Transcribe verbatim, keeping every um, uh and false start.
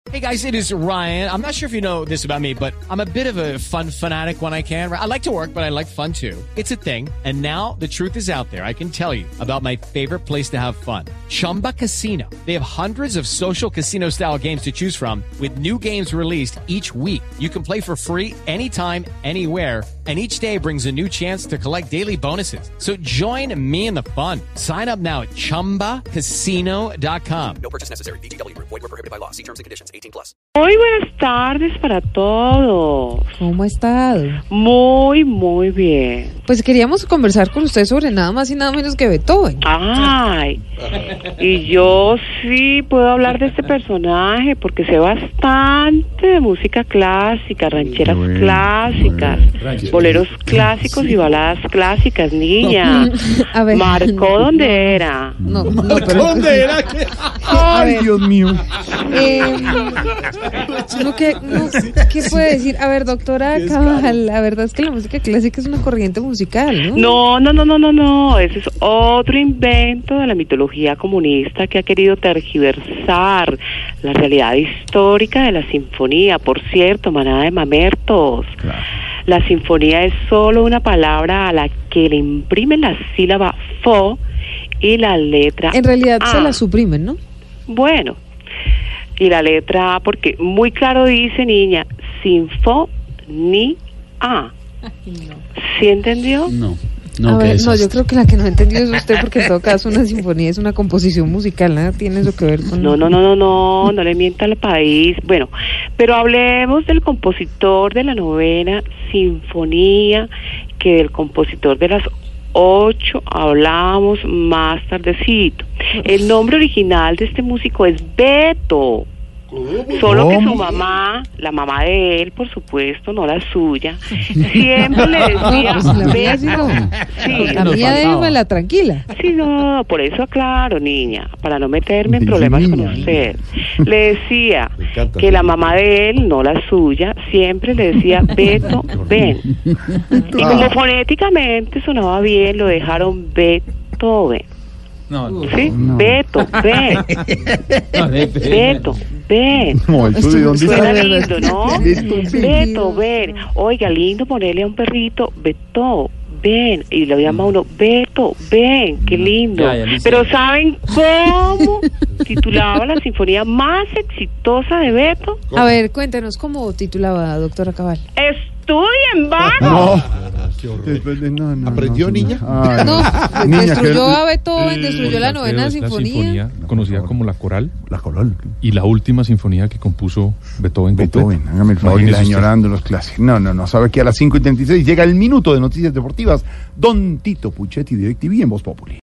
Hey guys, it is Ryan. I'm not sure if you know this about me, but I'm a bit of a fun fanatic when I can. I like to work, but I like fun too. It's a thing. And now the truth is out there. I can tell you about my favorite place to have fun. Chumba Casino. They have hundreds of social casino style games to choose from with new games released each week. You can play for free anytime, anywhere. And each day brings a new chance to collect daily bonuses. So join me in the fun. Sign up now at chumba casino dot com. No purchase necessary. V G W. Void where prohibited by law. See terms and conditions. eighteen plus. Muy buenas tardes para todos. ¿Cómo ha estado? Muy, muy bien. Pues queríamos conversar con usted sobre nada más y nada menos que Beethoven. Ay, y yo sí puedo hablar de este personaje porque sé bastante de música clásica, rancheras bueno, clásicas, bueno. boleros clásicos y baladas clásicas, niña. A ver, Marcó donde era. No, no, pero... ¿Dónde era? Ay, Dios mío. Eh, no, ¿qué, no, ¿Qué puede decir? A ver, doctora Cabal, la verdad es que la música clásica es una corriente musical, ¿no? No, no, no, no, no, no. Ese es otro invento de la mitología comunista que ha querido tergiversar la realidad histórica de la sinfonía. Por cierto, manada de mamertos. Claro. La sinfonía es solo una palabra a la que le imprimen la sílaba fo y la letra En realidad a. se la suprimen, ¿no? Bueno, y la letra A, porque muy claro dice, niña, sinfonía. ¿Sí entendió? No. No, a ver, no, yo creo que la que no entendió es usted, porque en todo caso una sinfonía es una composición musical, nada tiene eso que ver con... No, no, no, no, no, no le mienta al país. Bueno, pero hablemos del compositor de la novena sinfonía, que del compositor de las ocho hablamos más tardecito. El nombre original de este músico es Beto. Solo que su mamá, la mamá de él, por supuesto, no la suya, siempre le decía, no, pues la mía sí no. Sí, la mía déjamela tranquila. Sí, no, por eso aclaro, niña, para no meterme en problemas con usted. Le decía que la mamá de él, no la suya, siempre le decía, Beto, ven. Y como fonéticamente sonaba bien, lo dejaron Beethoven. No, no, ¿sí? No. Beto, ven. No, Beto, ven. No, ¿eso de dónde Suena lindo, ¿no? Beto, ven. Oiga, lindo ponerle a un perrito, Beto, ven. Y lo llama uno, Beto, ven, qué lindo. Ya, ya Pero ¿saben cómo titulaba la sinfonía más exitosa de Beto? A ver, cuéntenos cómo titulaba, doctora Cabal. Estudien, vago. No. Después de, no, no, ¿Aprendió, no, niña? Ay, no, pues niña, destruyó que... a Beethoven, destruyó la novena la sinfonía. sinfonía conocida como la coral. La coral. Y la última sinfonía que compuso Beethoven. Beethoven, hágame el favor, y añorando los clásicos. No, no, no, sabe que a las cinco y treinta y seis llega el minuto de noticias deportivas. Don Tito Puchetti, DirecTV en Voz Populi.